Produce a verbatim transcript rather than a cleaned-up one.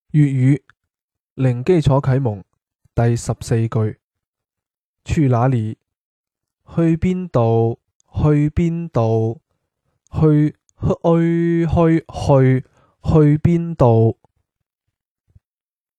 粵語零基礎啟蒙第十四句：去哪裏？去邊度？去邊度？去去去去去邊度？